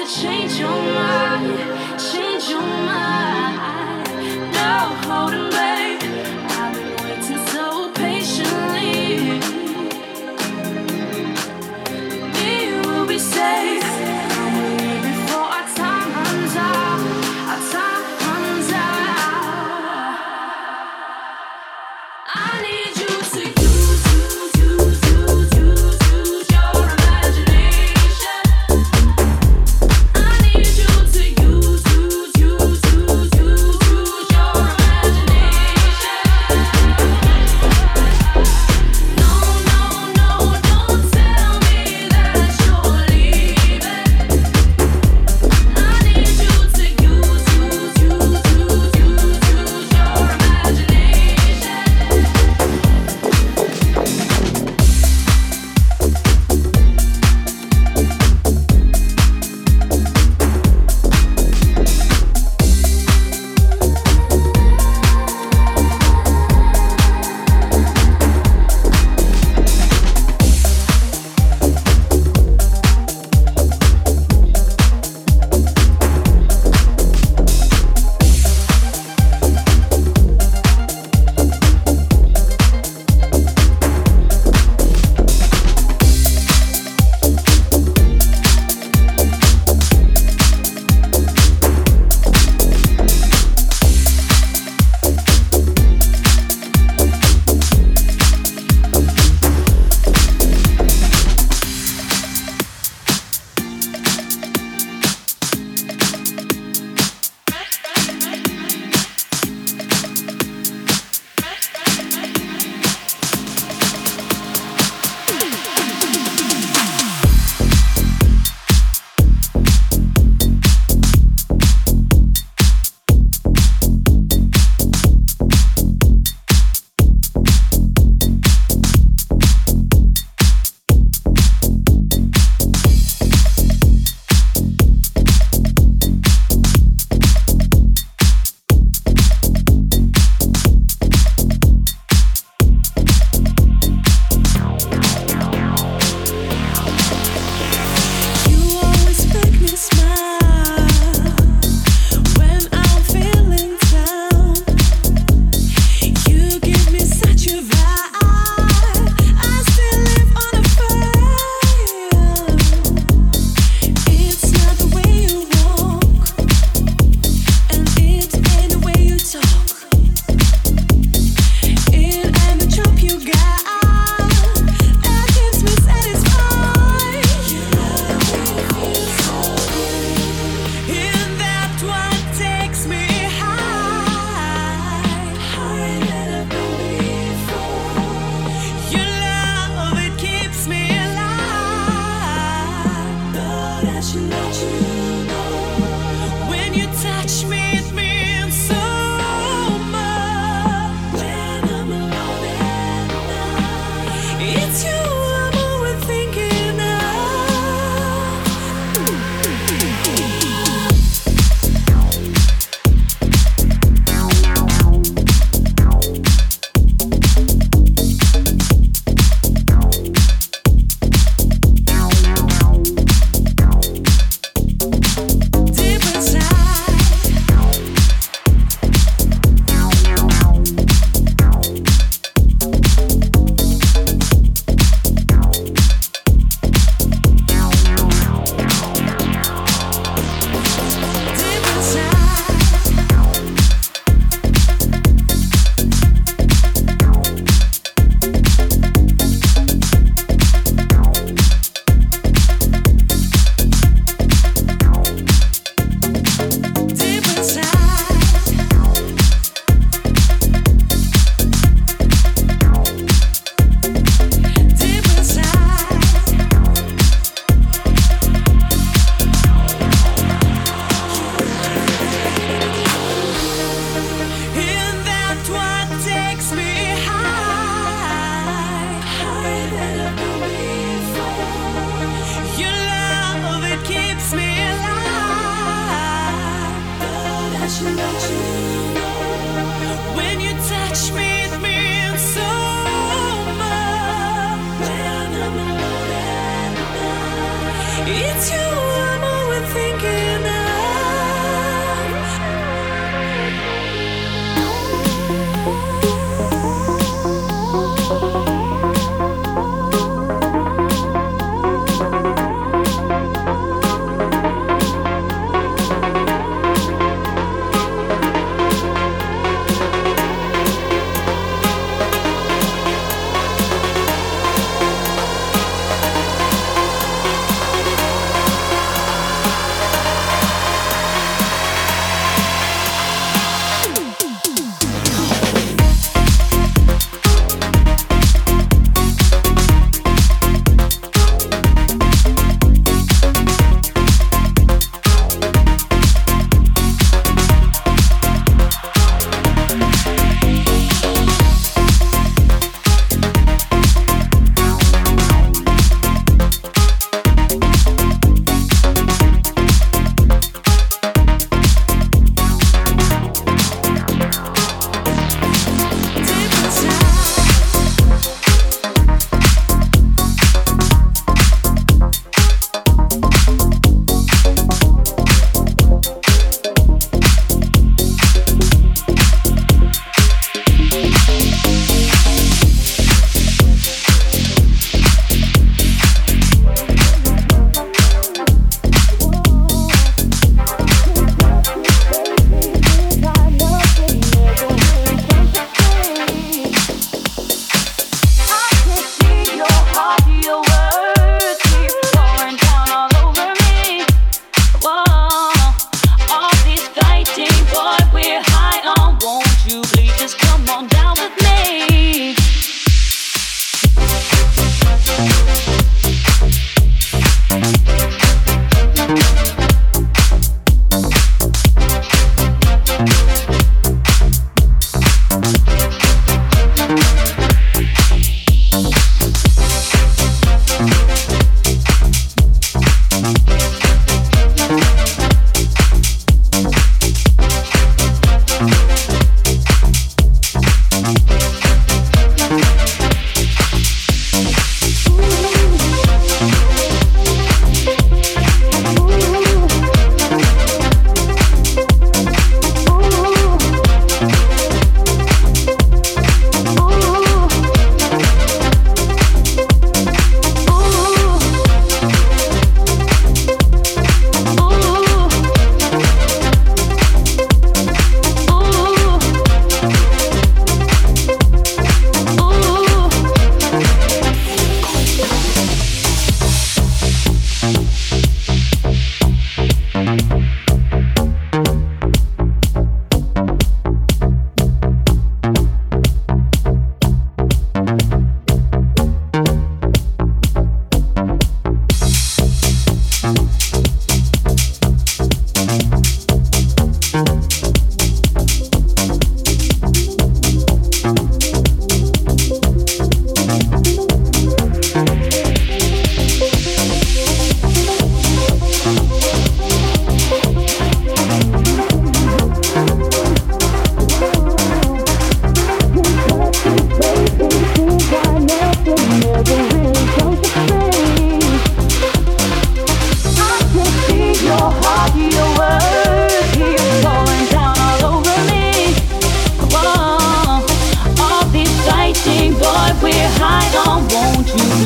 It's you I'm overthinking.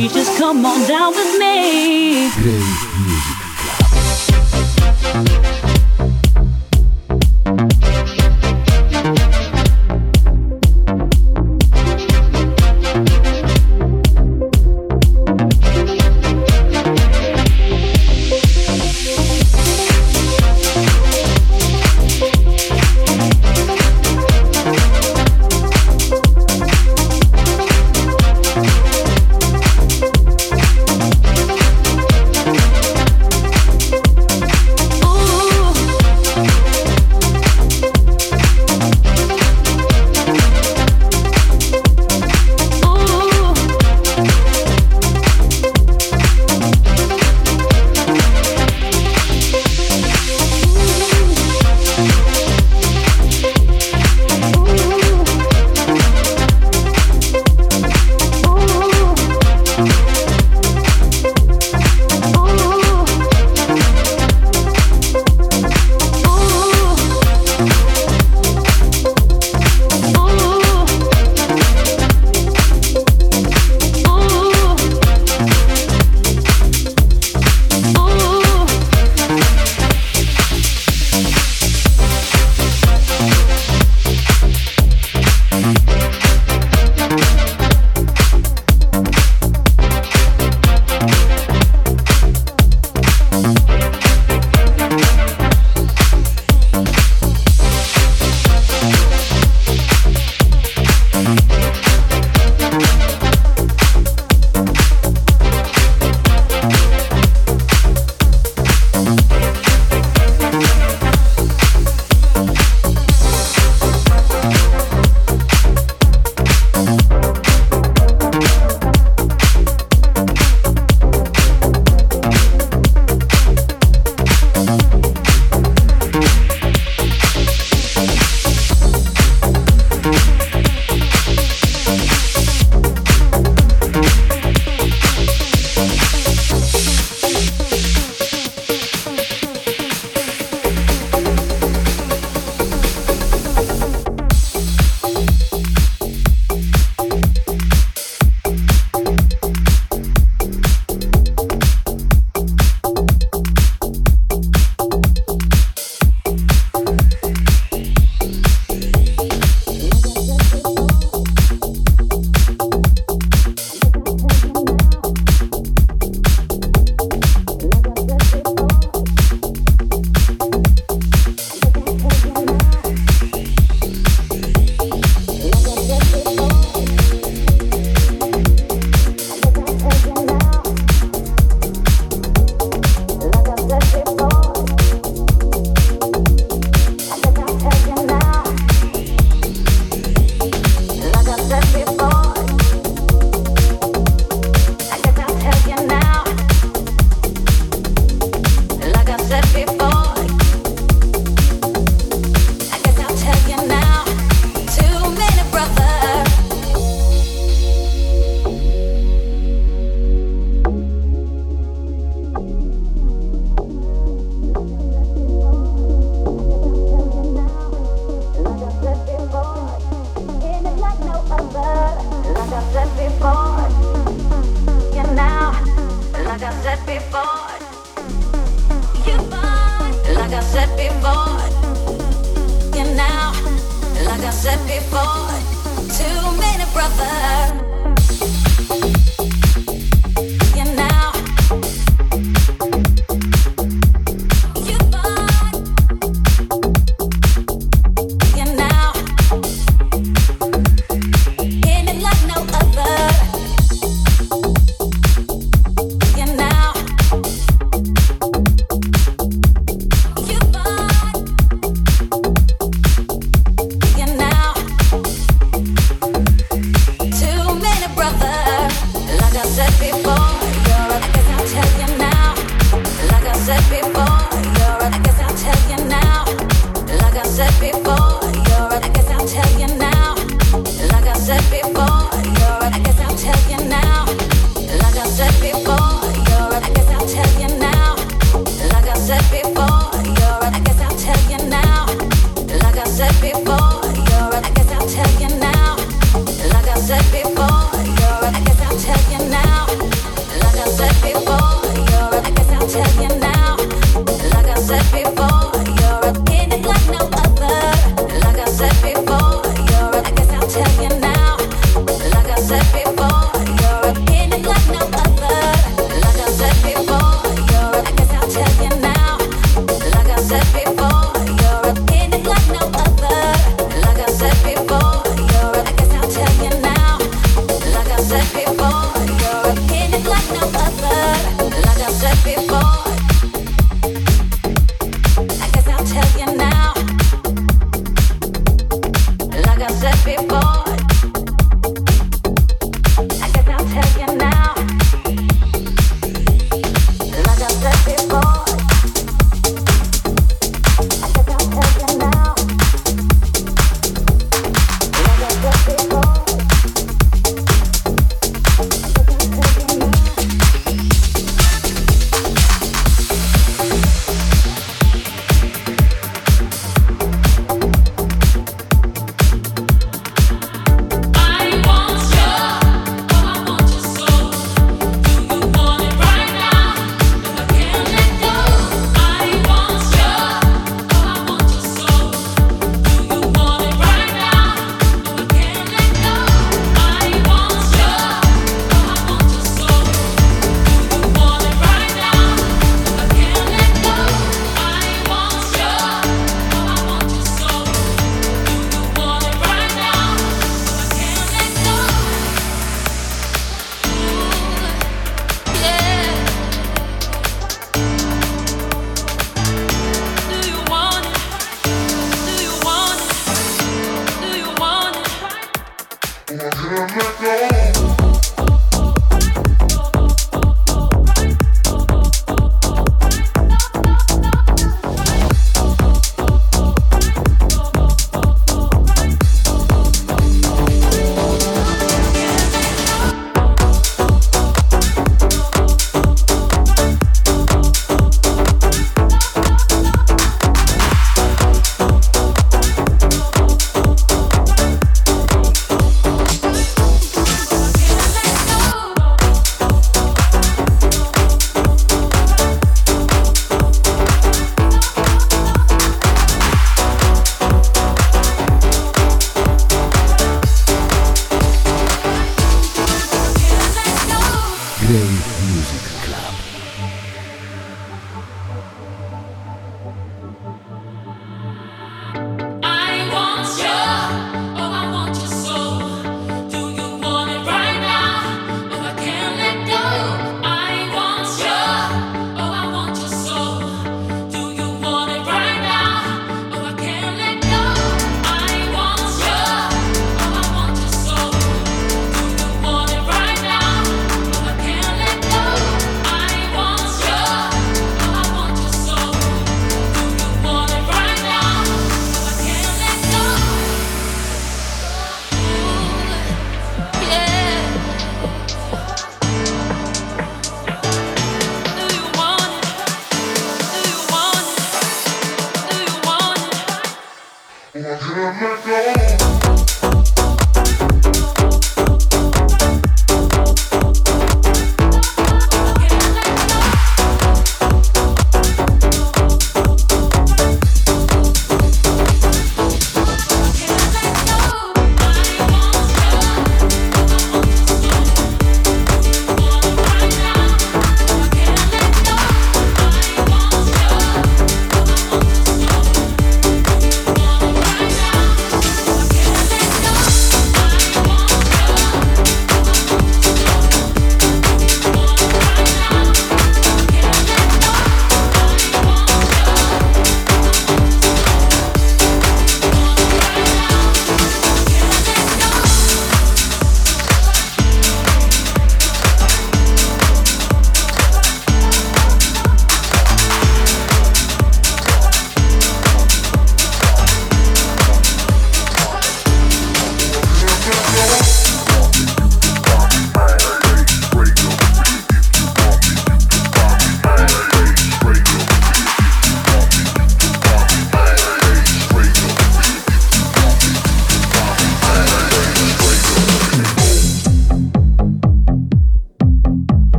please just come on down with me. Grey Music.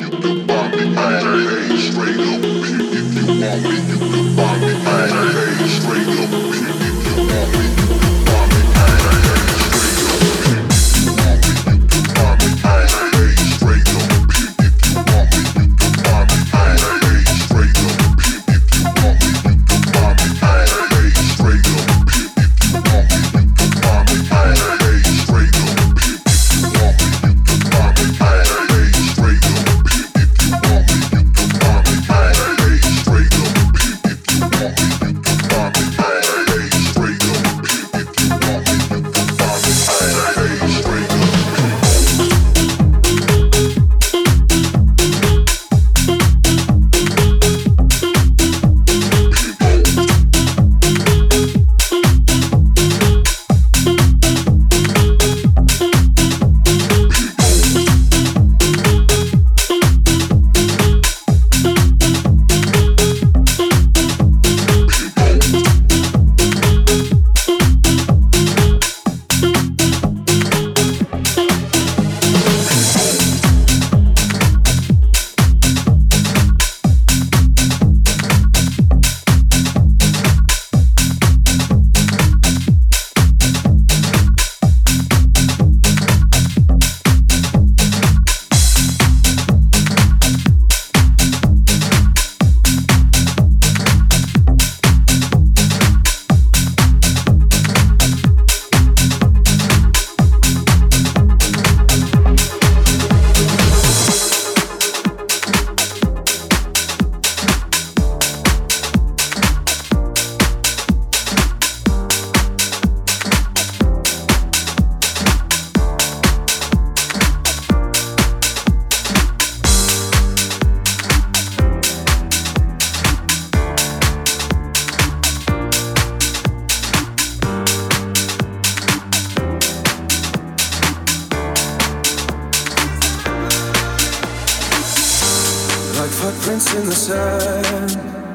footprints in the sand,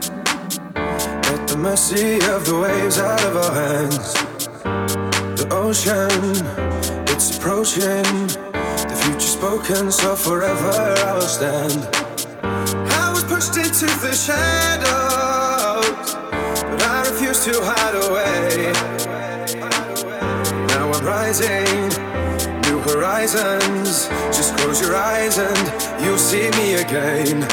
at the mercy of the waves out of our hands. The ocean, it's approaching, the future spoken, so forever I will stand. I was pushed into the shadows, but I refuse to hide away. Now I'm rising, new horizons. Just close your eyes and you'll see me again.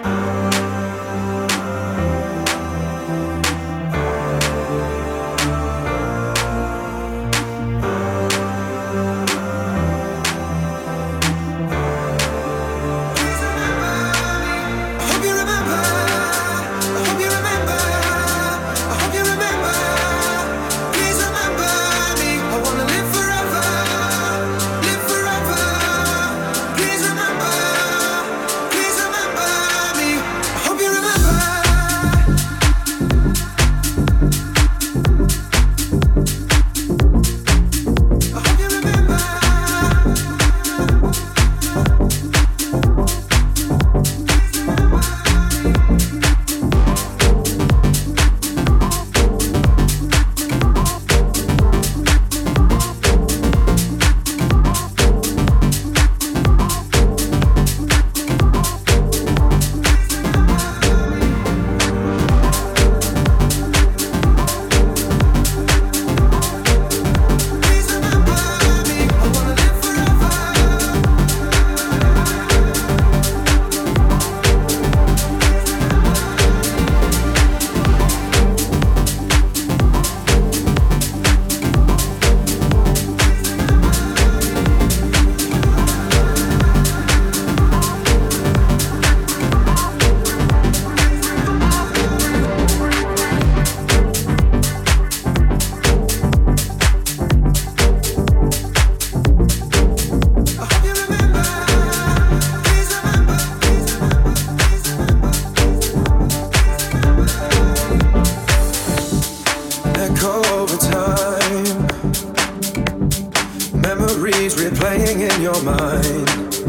Replaying in your mind,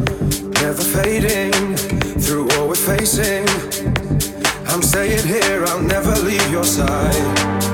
never fading through what we're facing. I'm staying here, I'll never leave your side.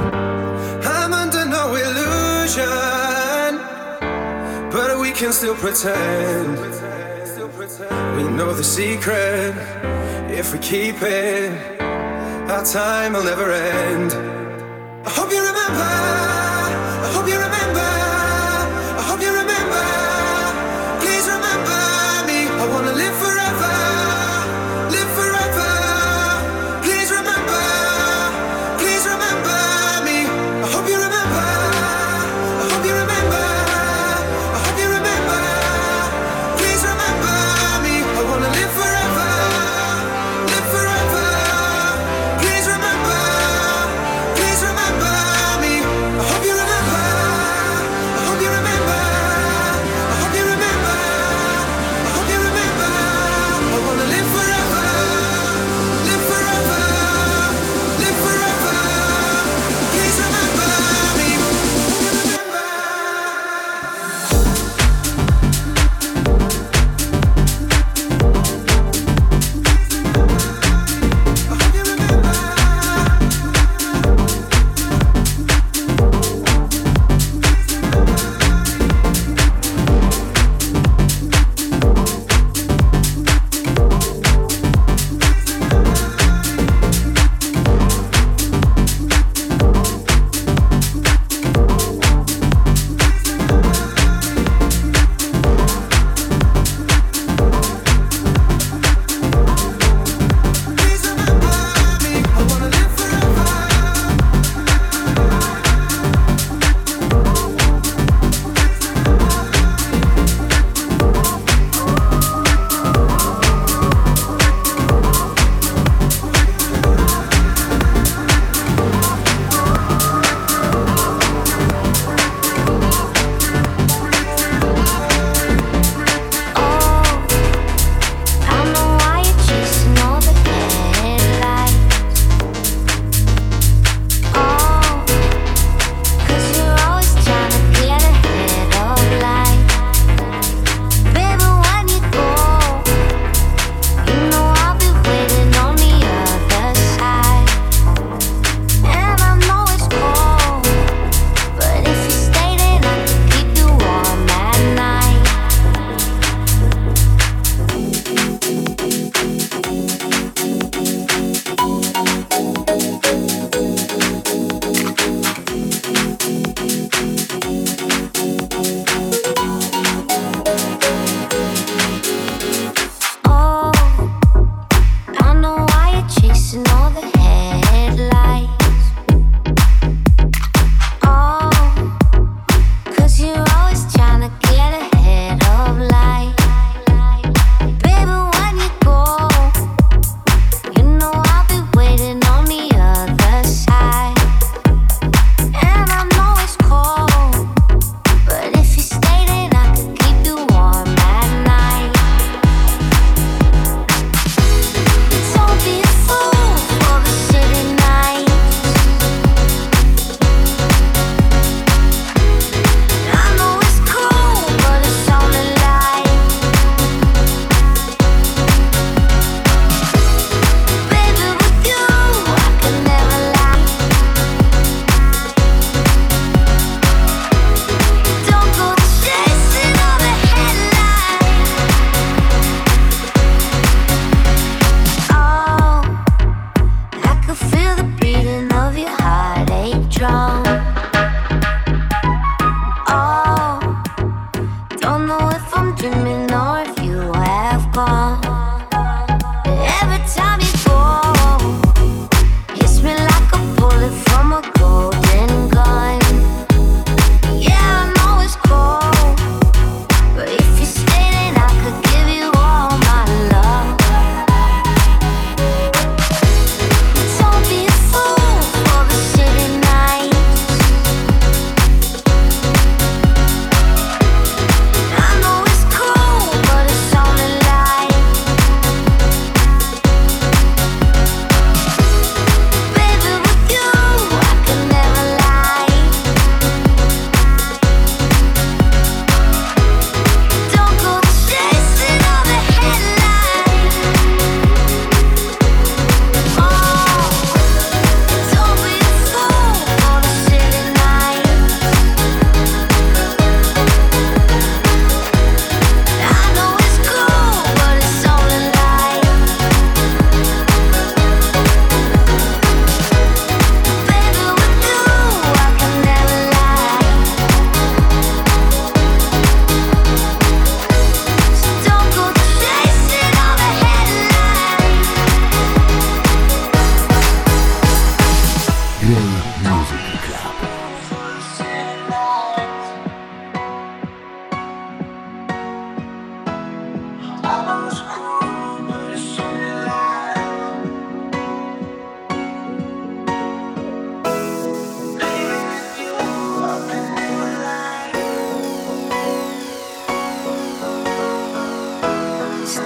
I'm under no illusion, but we can still pretend. We know the secret. If we keep it, our time will never end. I hope you remember. I hope you remember. I hope you remember. Please remember me. I wanna live forever. Live forever. Please remember. Please remember me. I hope you remember. I hope you remember. I hope you remember. Please remember me. I wanna live forever. Live forever. Please remember. Please remember me. I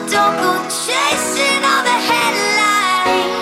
Don't go chasing all the headlines.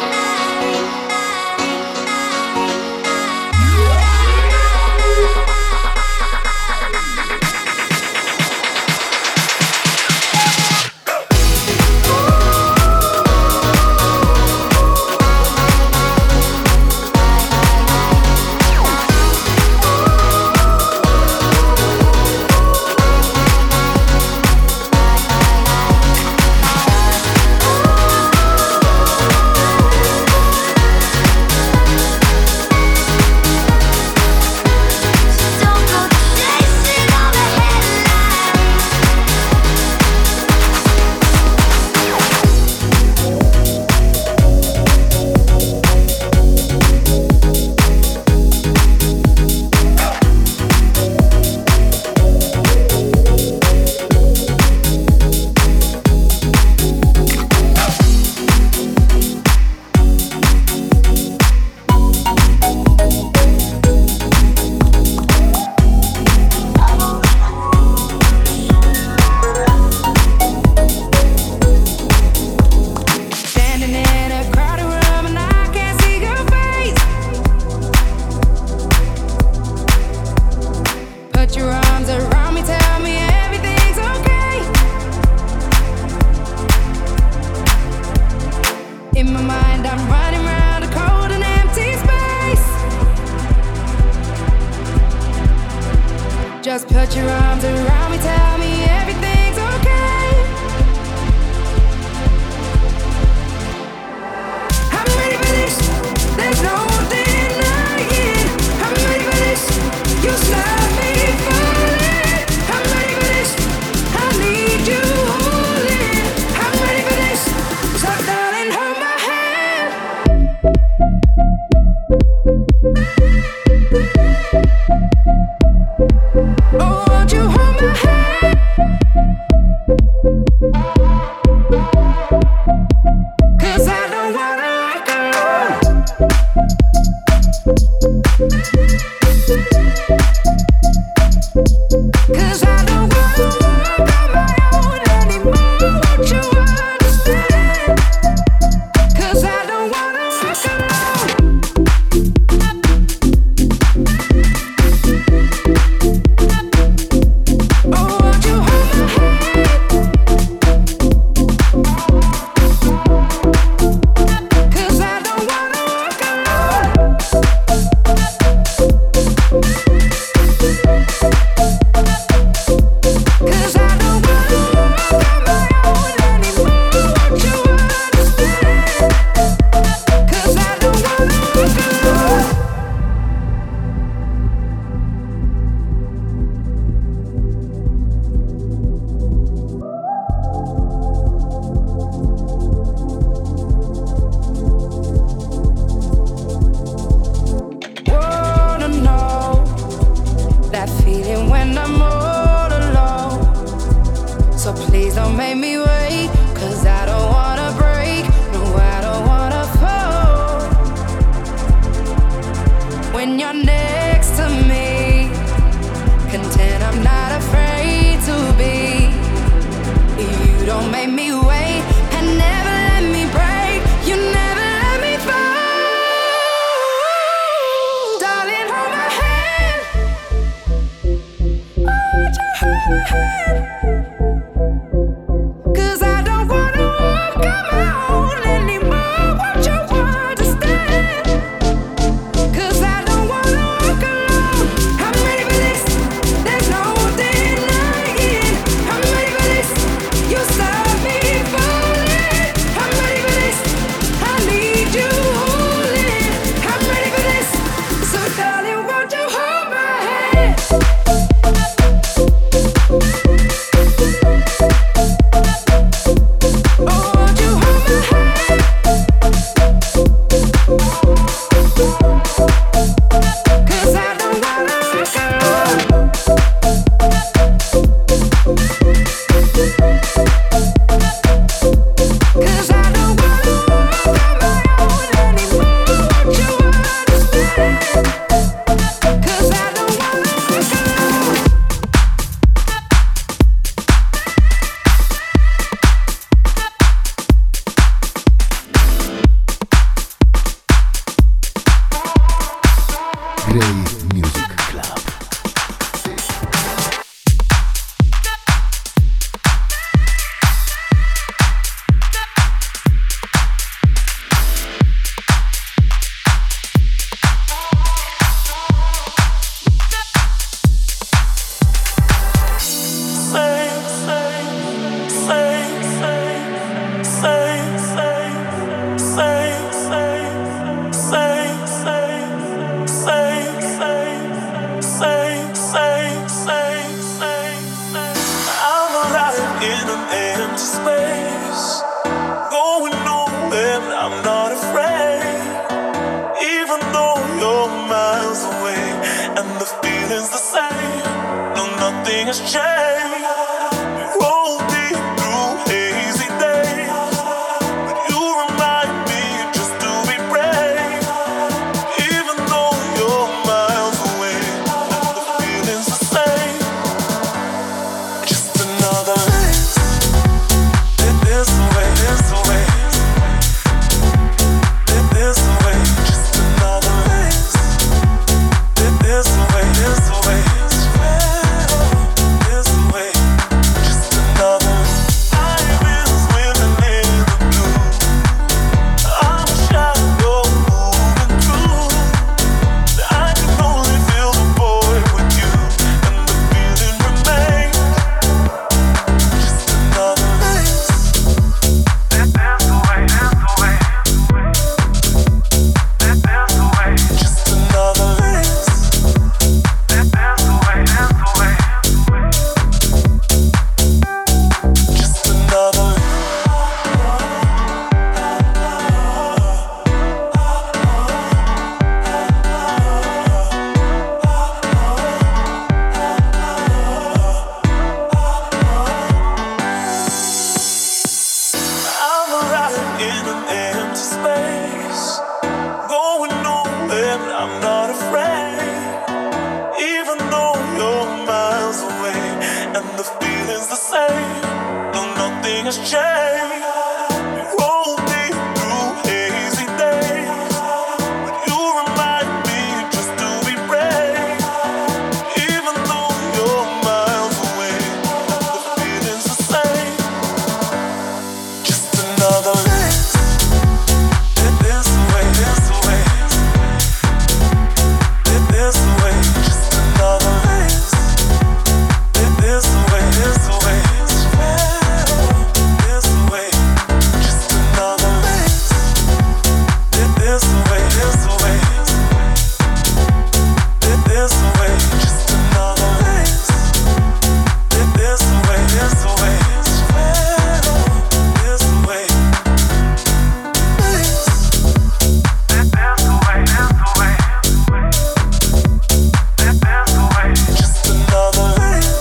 Just put your arms around me, tell me everything's okay. I'm ready for this, there's no denying. I'm ready for this, you stop me falling. I'm ready for this, I need you holding. I'm ready for this, so darling, hold my hand. Oh, won't you hold my hand? nothing has changed. Roll deep through hazy days, but you remind me just to be brave. Even though you're miles away, and the feeling's the same. Just another race. There's a way, there's a way. There's a way, just another race. There's a way, there's a way. There's a way, just another. I've been swimming in the blue. I'm a shadow moving through. I can only feel the void with you, and the feeling remains. Just another race. There's a way, there's a way. There's a way, just another race. There's a way, there's a way. Just another. I'm arriving in an empty space, going nowhere, but I'm not afraid. Even though you're miles away, and the feeling's the same. No, nothing has changed. Roll deep through hazy days, but you remind me just to be brave. Even though you're miles away, and the feeling's the same. Just another race. There's a way, there's a way. There's a way, just another race. There's a way, there's a way. There's a way, just another race. There's a way, there's a way. There's a way, just another race. There's a way, there's a way. There's a way. Just another race.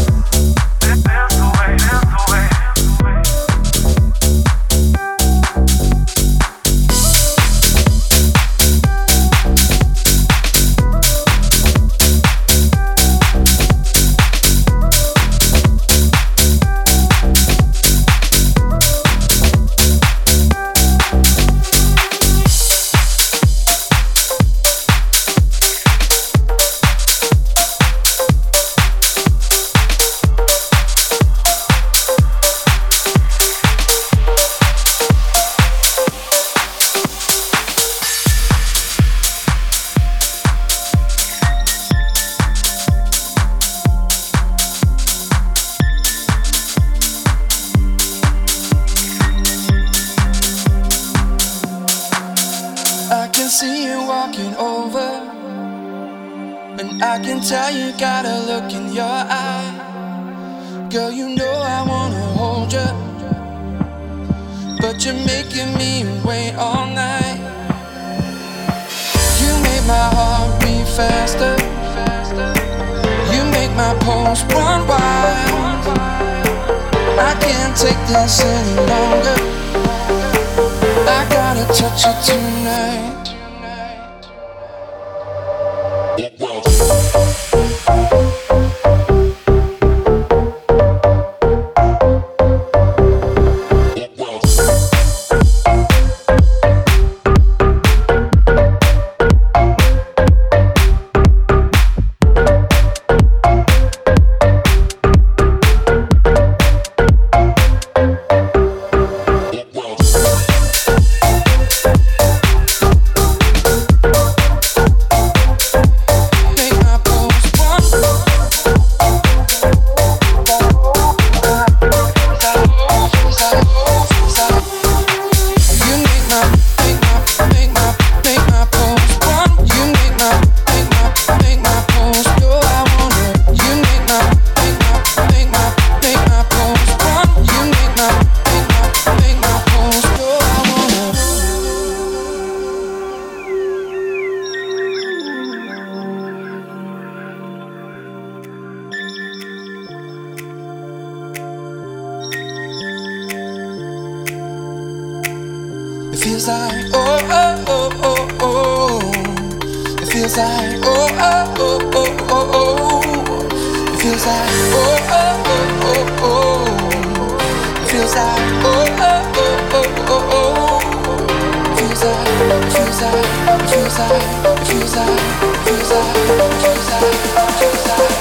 I can see you walking over, and I can tell you got a look in your eye. Girl, you know I wanna hold you, but you're making me wait all night. You make my heart beat faster, you make my pulse run wild. I can't take this any longer, I gotta touch you tonight. It feels like oh oh oh oh oh. It feels like oh oh oh oh oh oh. It feels like oh oh oh oh oh. It feels like oh oh oh oh oh oh. It feels like it feels like it feels like it feels like it feels like it feels like it feels like.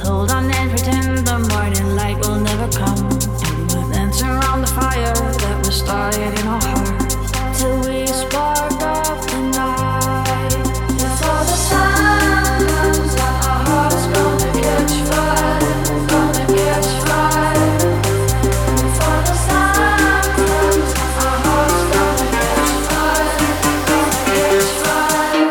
hold on and pretend the morning light will never come. And we'll dance around the fire that was started in our hearts till we spark up the night. Before the sun comes up, our hearts gonna catch fire, gonna catch fire. Before the sun comes up, our hearts gonna catch fire, gonna catch fire.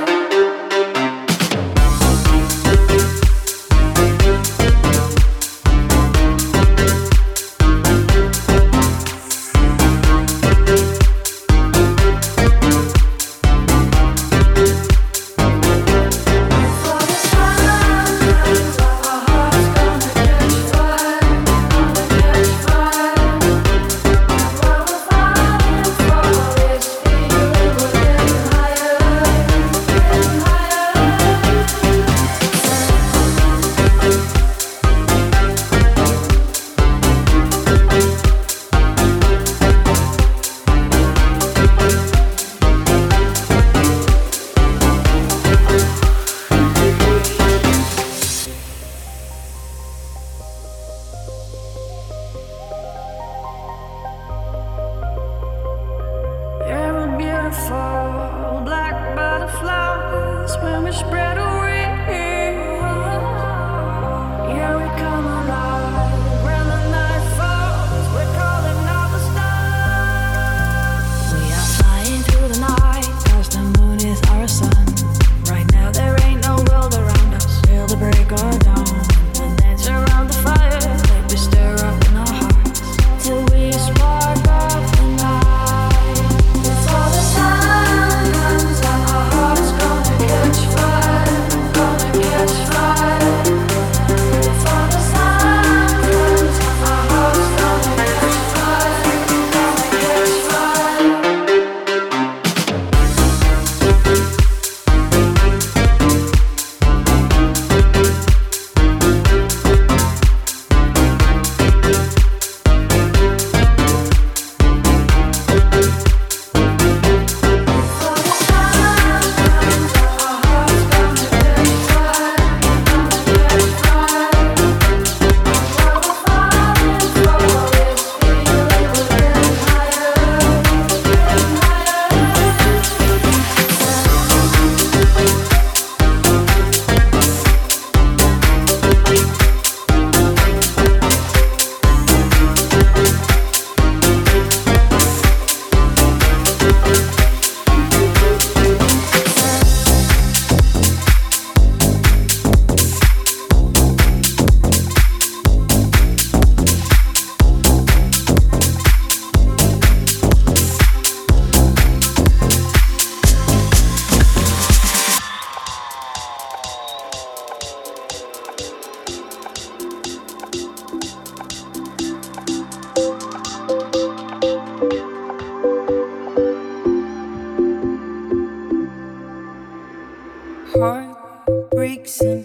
Heartbreaks and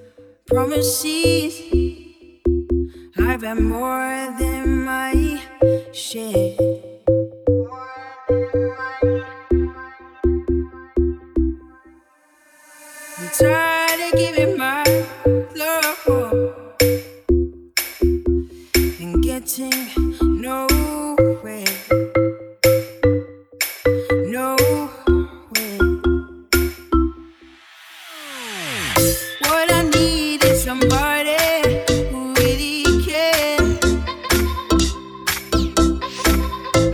promises, I've had more than my share. I'm tired of giving my love and getting nowhere. What I need is somebody who really cares.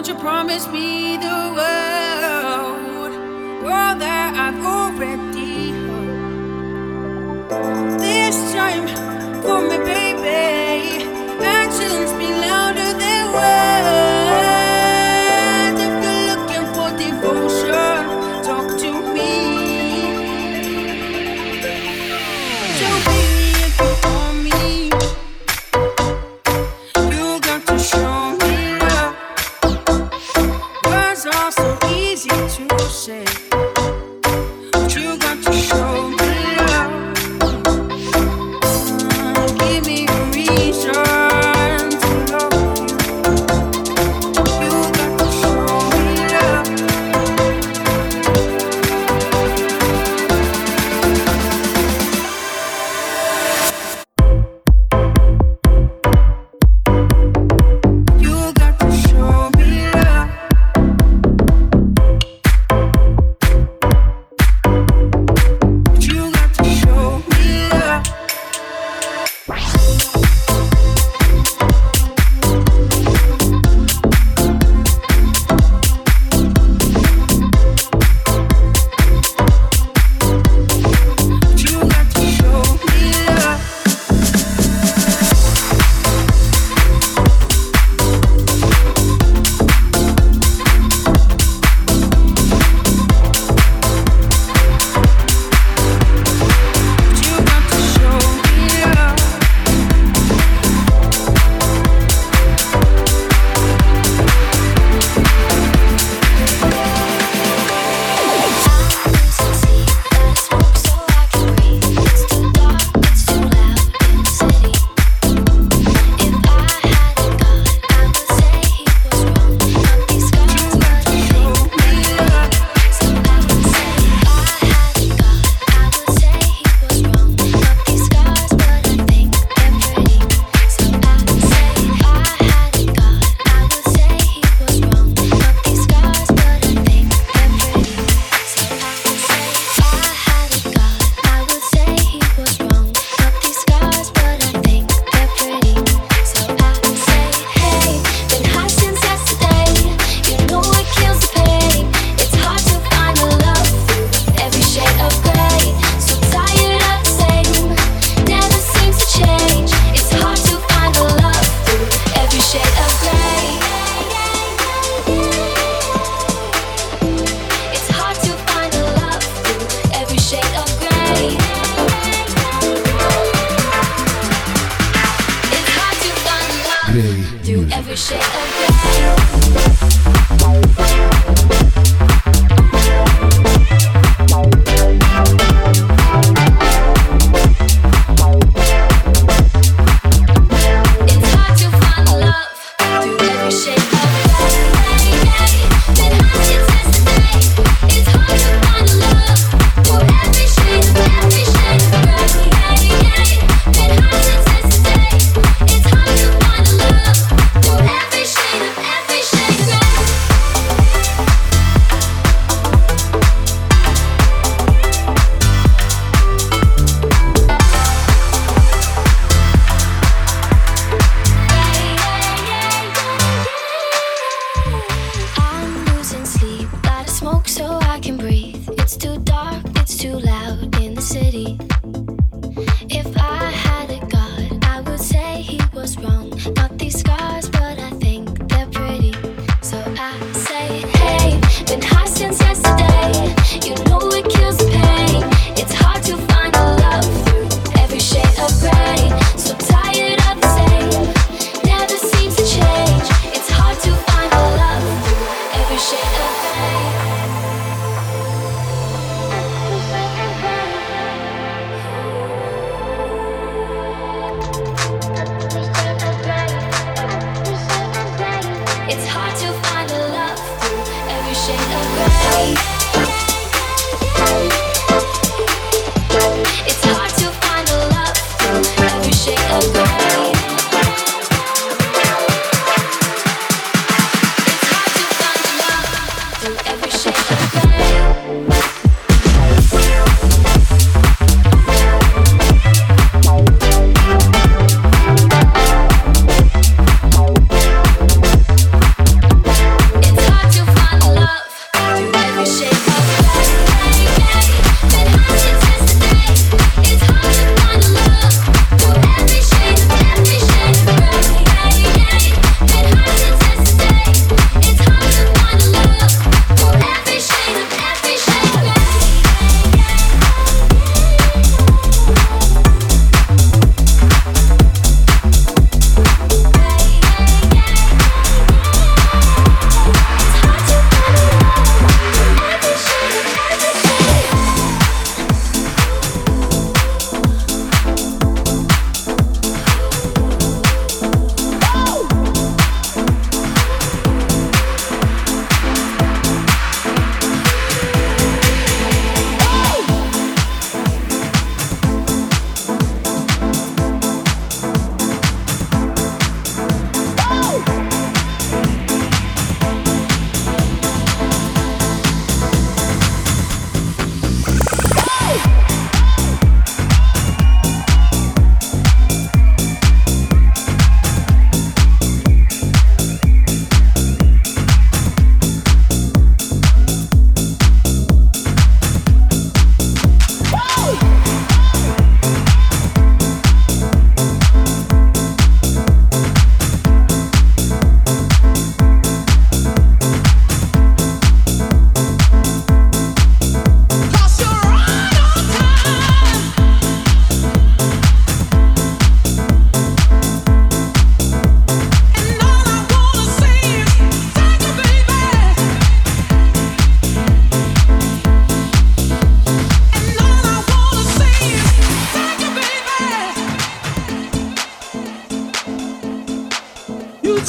won't you promise me the world, world that I've already heard. This time, for me, baby, actions speak louder than words. If you're looking for devotion, talk to me. So baby, if you want me, you got to show me love. Words are so easy to say, but you got to show me love. Give me a reason to love you. You got to show me love. You got to show me love. You got to show me love. You got to show me love. You got to show me love. Every shade of It's hard to find love through every shade of Been hard since yesterday. It's hard to find love through every shade of gray. Been hard since yesterday. It's hard to find love through every shade of gray. I'm losing sleep, gotta smoke so I can breathe. It's too dark, it's too loud in the city. If I had a god, I would say he was wrong. Not these scars, but I think they're pretty. So I say, hey, been high since yesterday. You know it kills the pain. It's hard to find a love through every shade of gray. So tired of the same, never seems to change. It's hard to find a love through every shade of gray. It's hard to find a love through every shade of gray. It's hard to find a love through every shade of gray. It's hard to find a love through every shade of gray.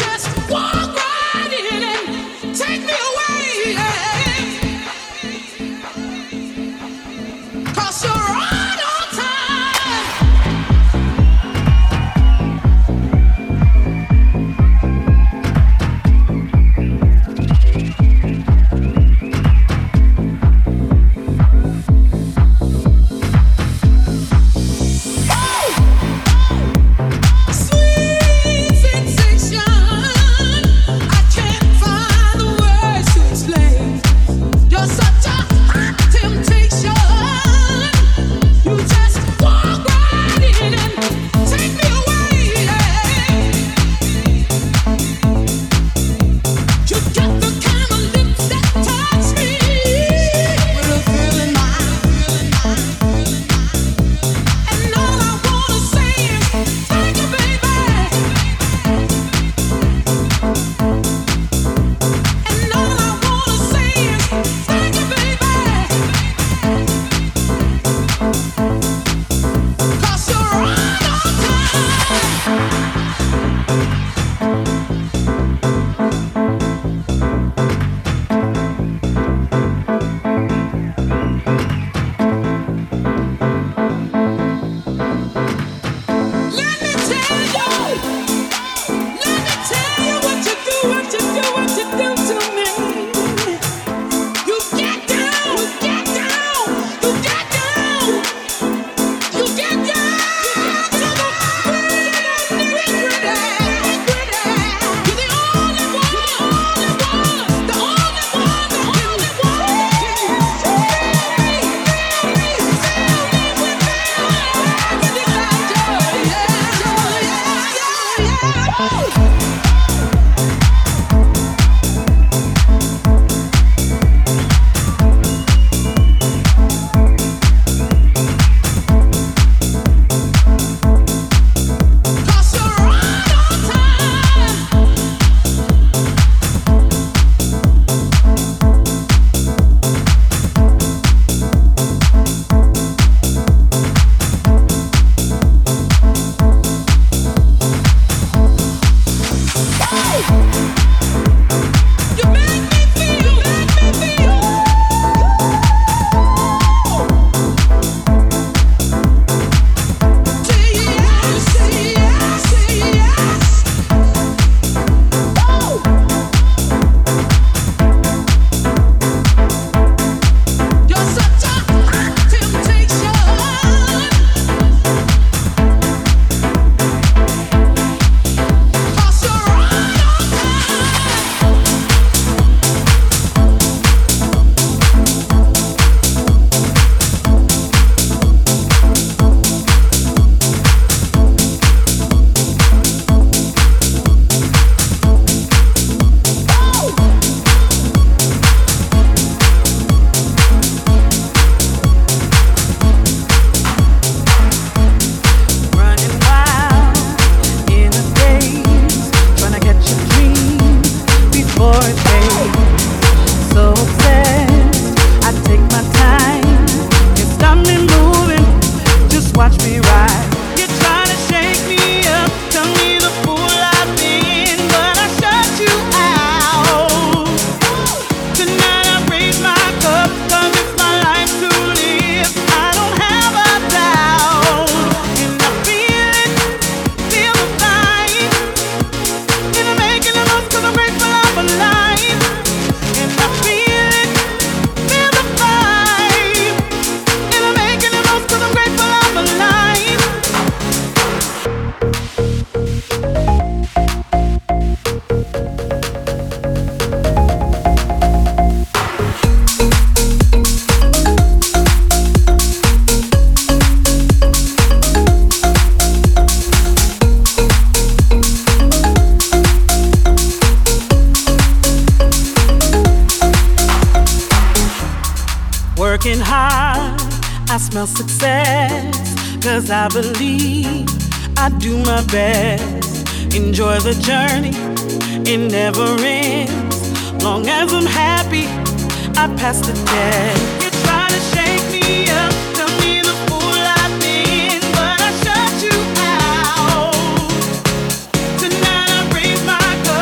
working hard, I smell success, 'cause I believe I do my best. Enjoy the journey, it never ends. Long as I'm happy, I pass the test. You try to shake me up, tell me the fool I've been, but I shut you out. Tonight I raise my cup.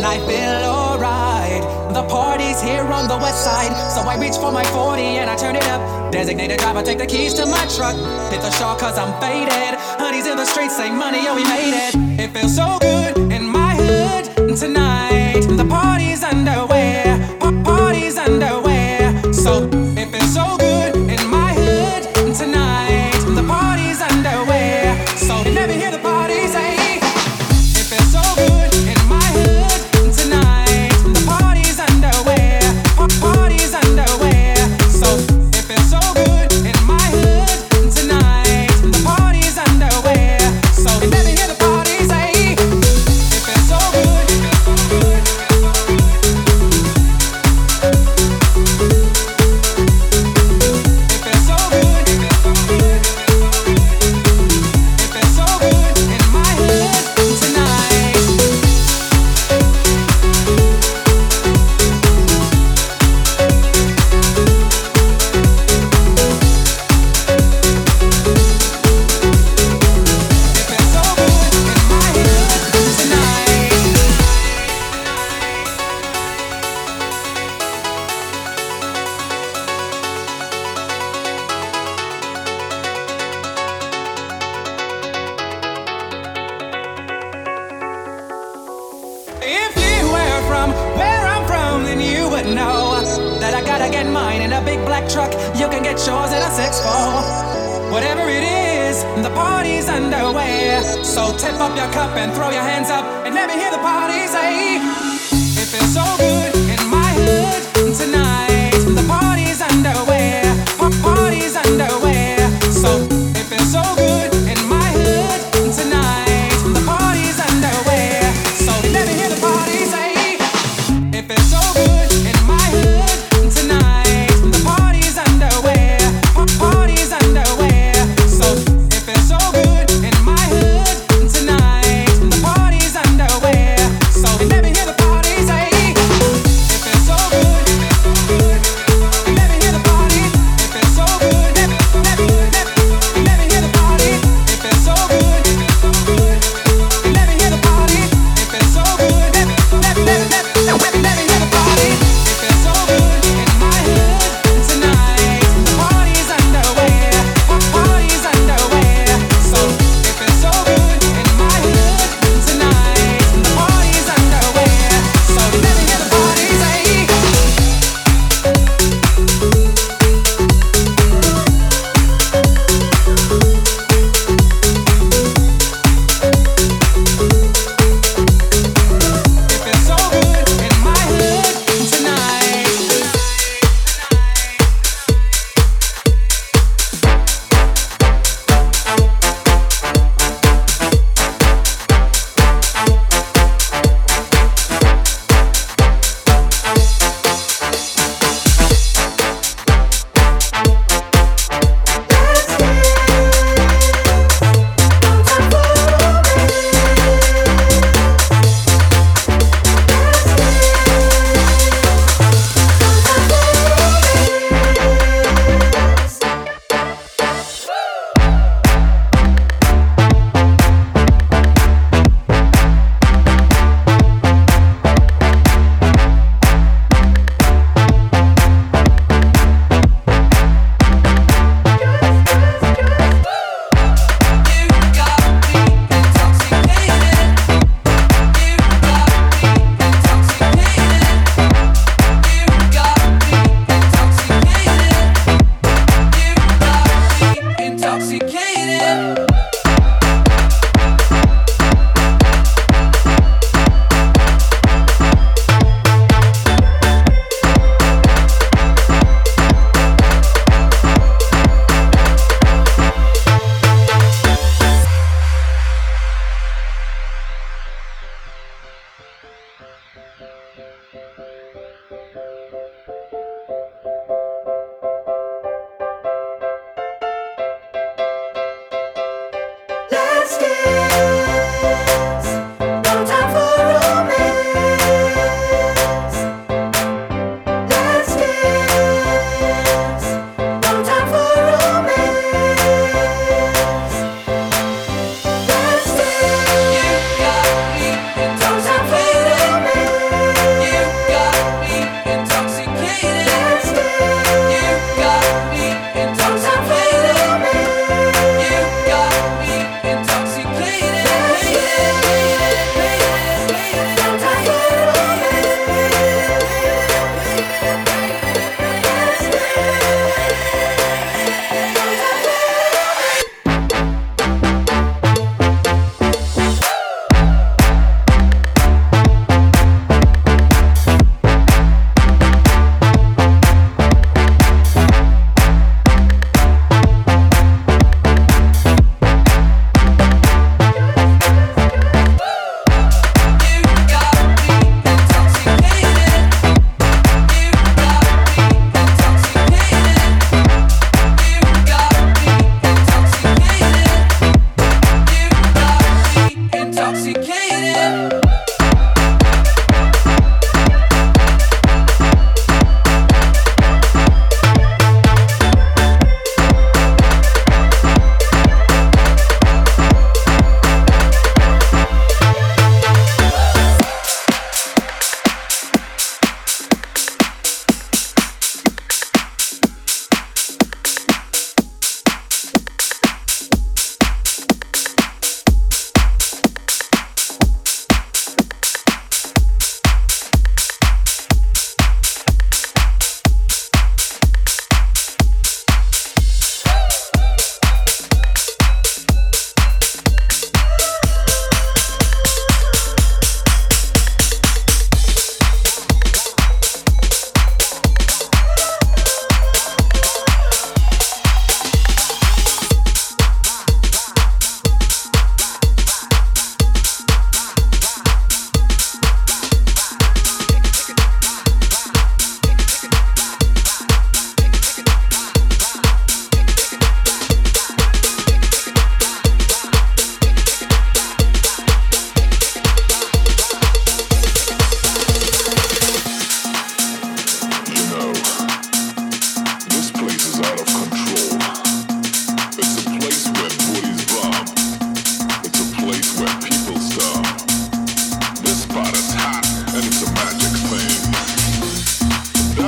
I feel alright. The party's here on the west side, so I reach for my 40 and I turn it up. Designated driver, take the keys to my truck. Hit the shore cause I'm faded. Honey's in the streets, say money, oh we made it. It feels so good in my hood tonight. The party's underway, party's underway. So it feels so good in my hood tonight. The party's underway. So you never hear the party say. It feels so good in my hood tonight. The party's underway, party's underway. So it feels so good in my hood tonight. The party's underway. So you never hear the party say. It feels so good. If you were from where I'm from, then you would know that I gotta get mine in a big black truck. You can get yours in a 6'4". Whatever it is, the party's underway. So tip up your cup and throw your hands up and let me hear the party say. It feels so good in my hood tonight. The party's underway, party's underway. So it feels so good in my hood tonight. The party's underway. So let me hear the party say. It feels so good in my hood tonight. The party's underway, party's underway. So it feels so good in my hood tonight. The party's underway. So let me hear the party say.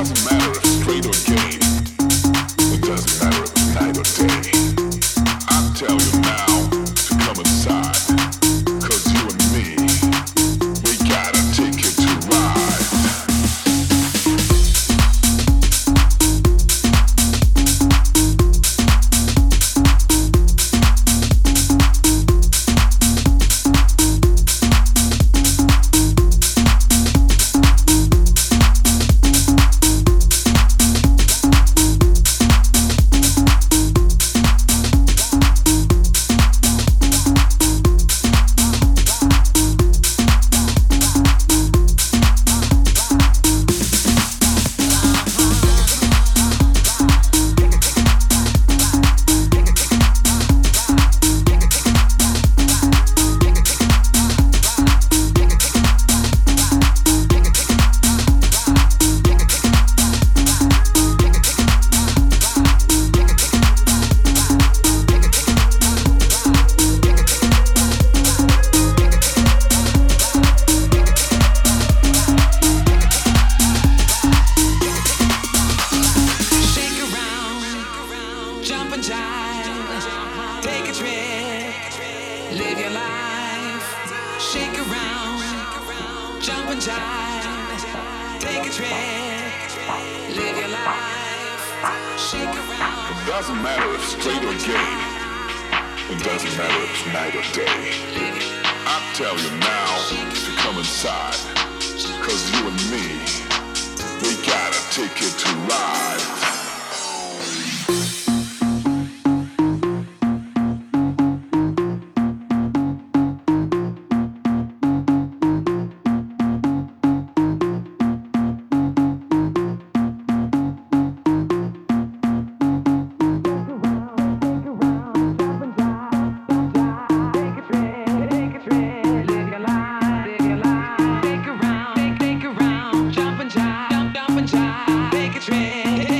Take a trip.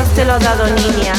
Dios te lo ha dado, niña.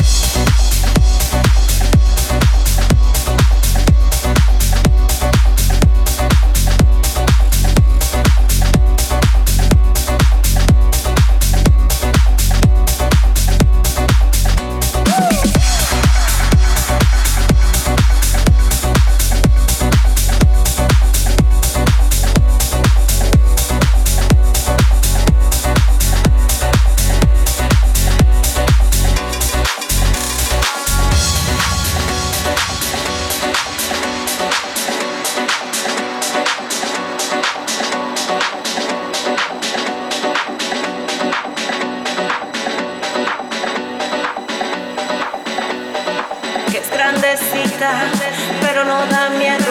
Pero no da miedo.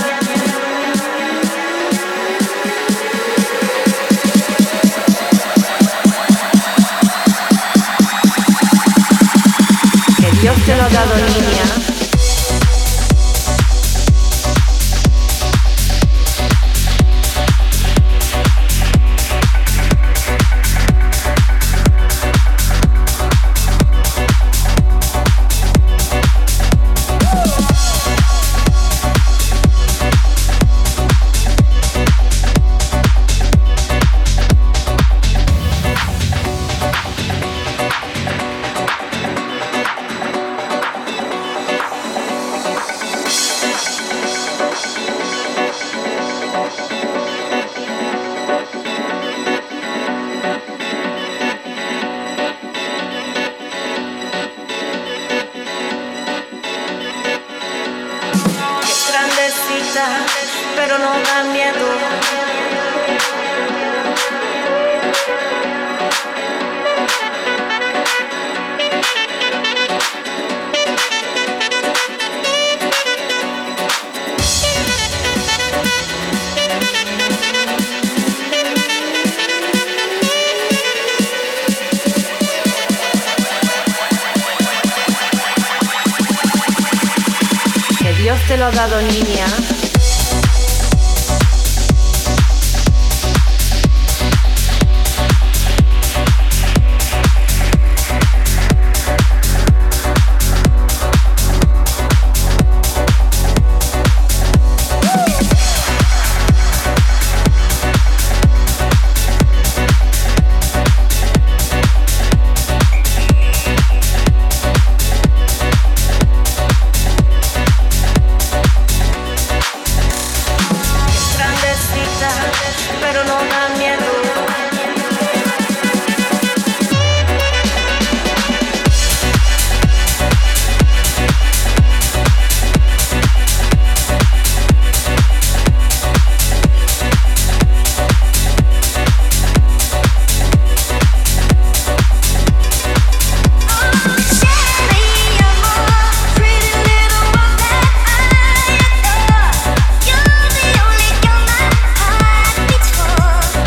Que Dios te lo ha dado, niña. Pero no da miedo. Que Dios te lo ha dado, niña. Pero no da miedo. You're the only girl my heart beats for.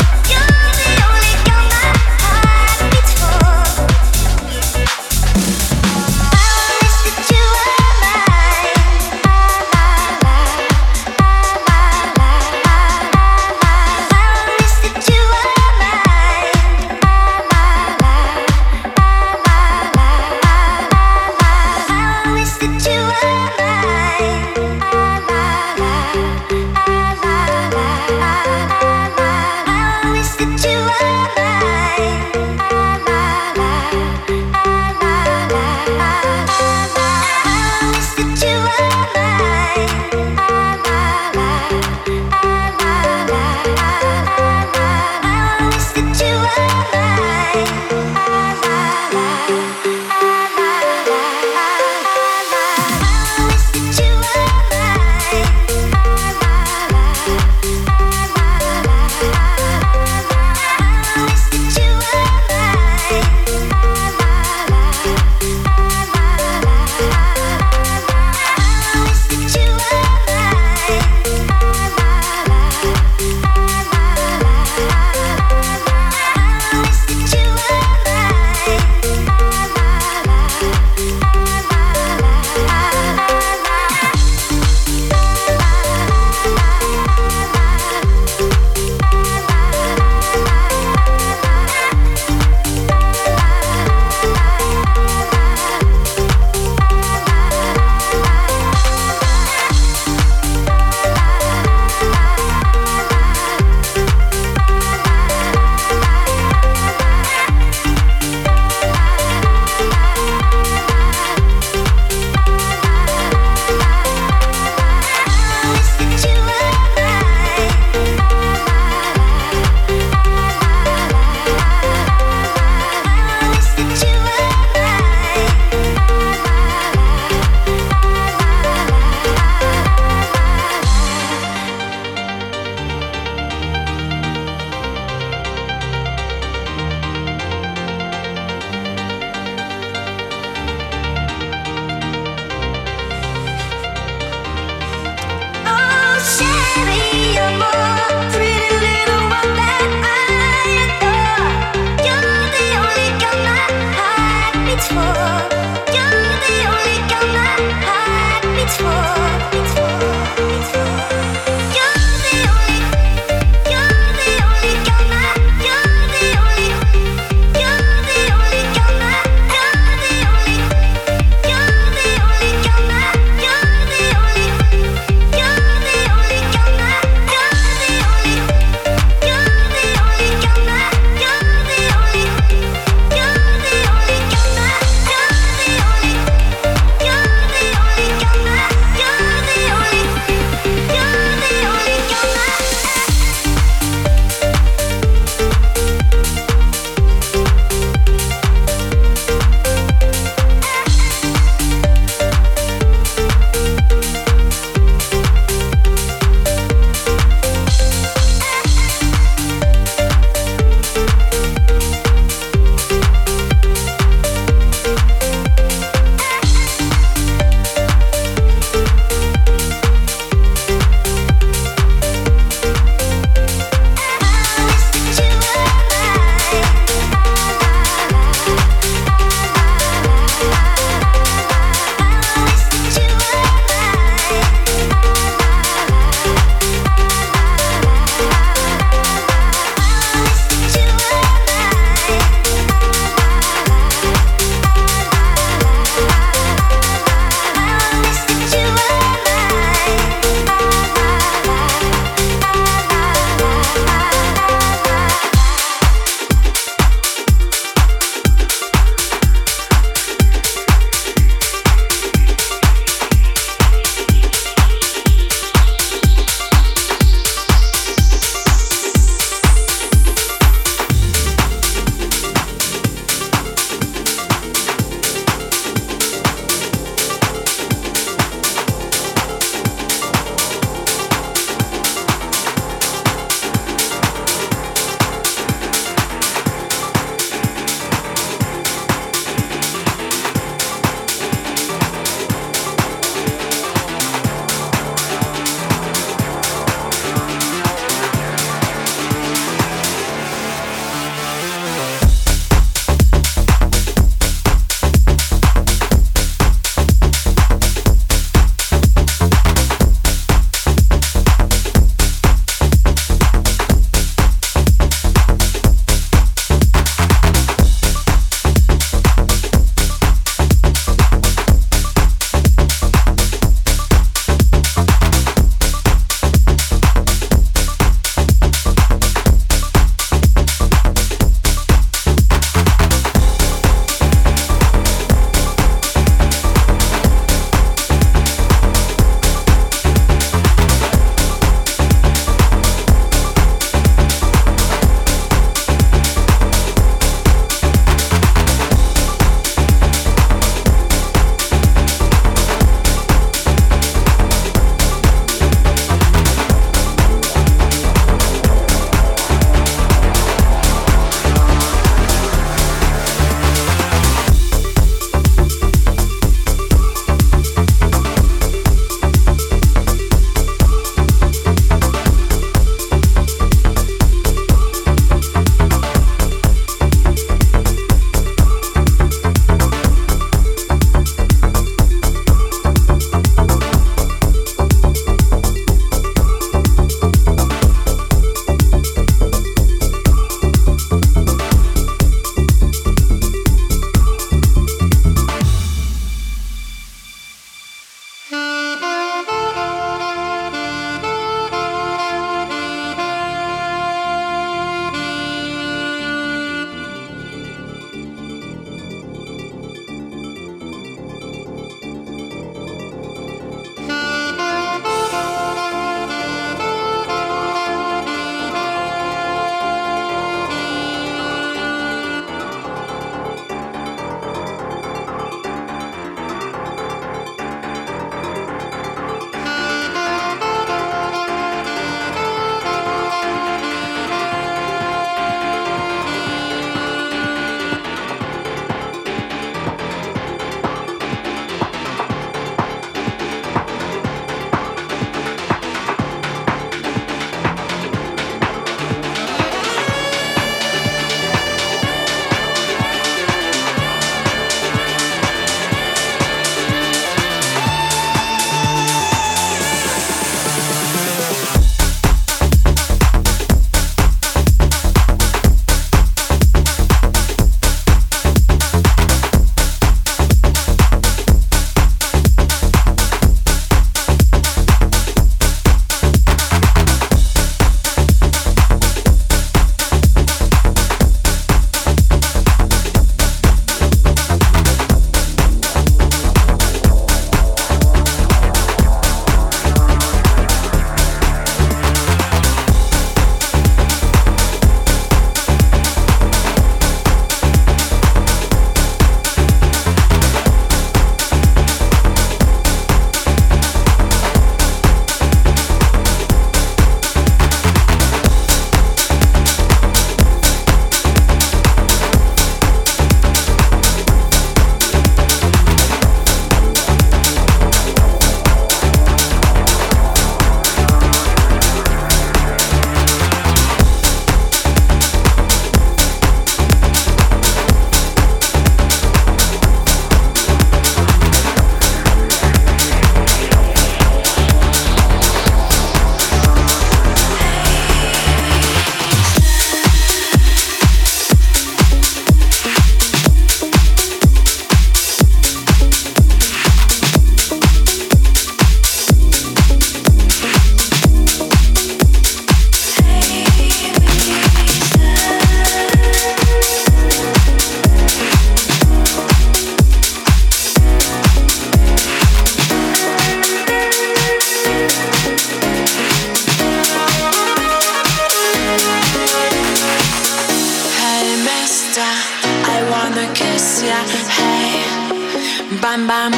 Bam bam.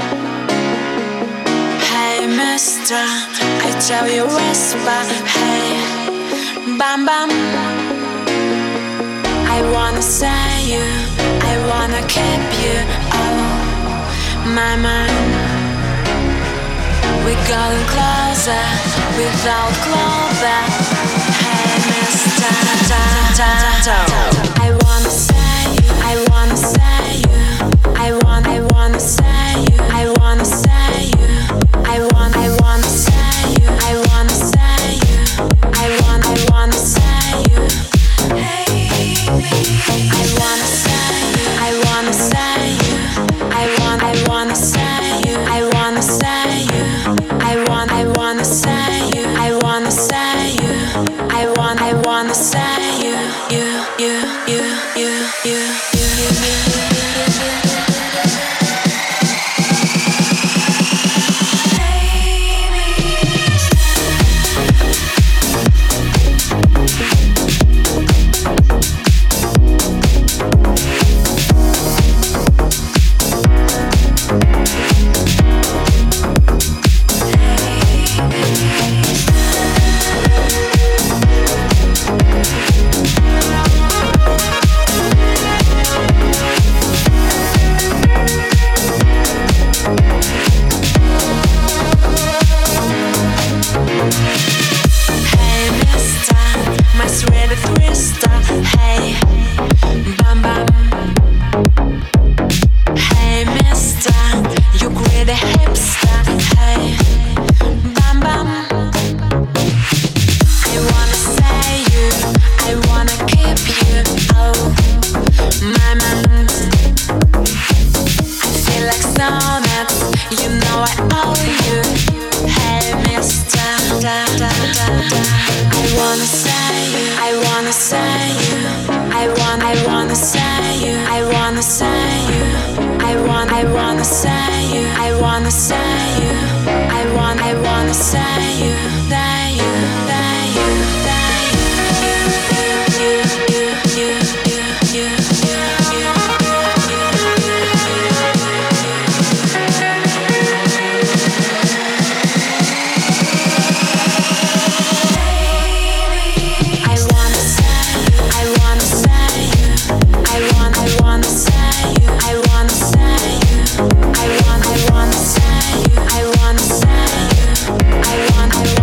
Hey mister, I tell you whisper. Hey, bam bam. I wanna say you, I wanna keep you. Oh, my man. We going closer without clover. Hey mister, I wanna say you, I wanna say you. I wanna say you, I wanna say you. I wanna say you, I wanna say you. I wanna say you. Hey, I wanna say you, I wanna say you. I wanna say you, I wanna say you. I wanna say you, I wanna say you. I wanna say you, you. I wanna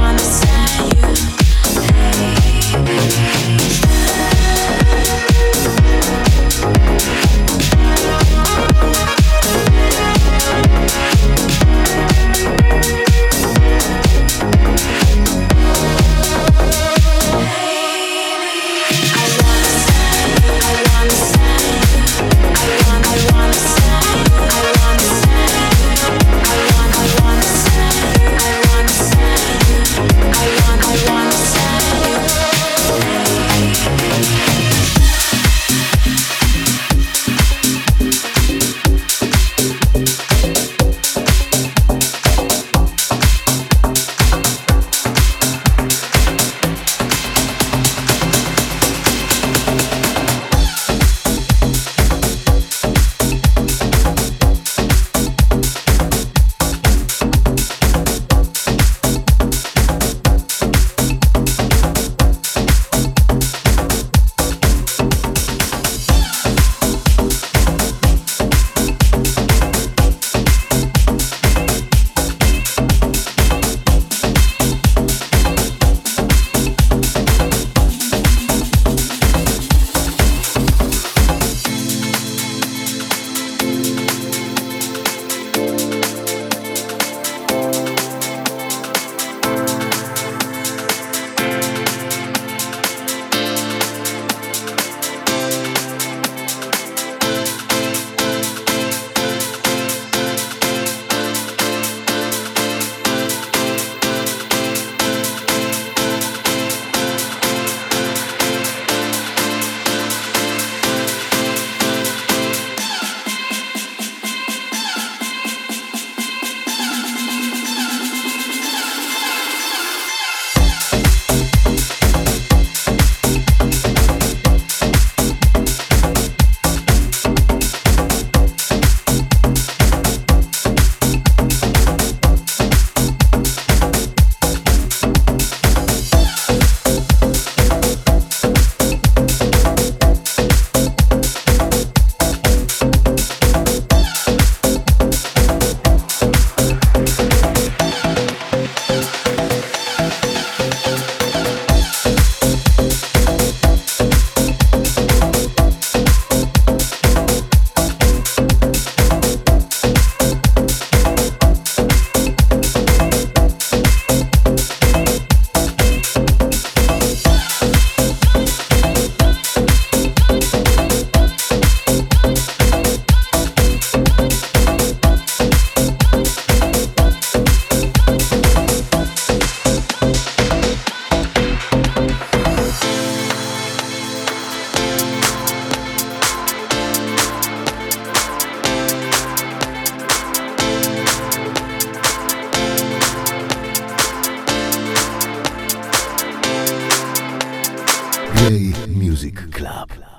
Gray Music Club.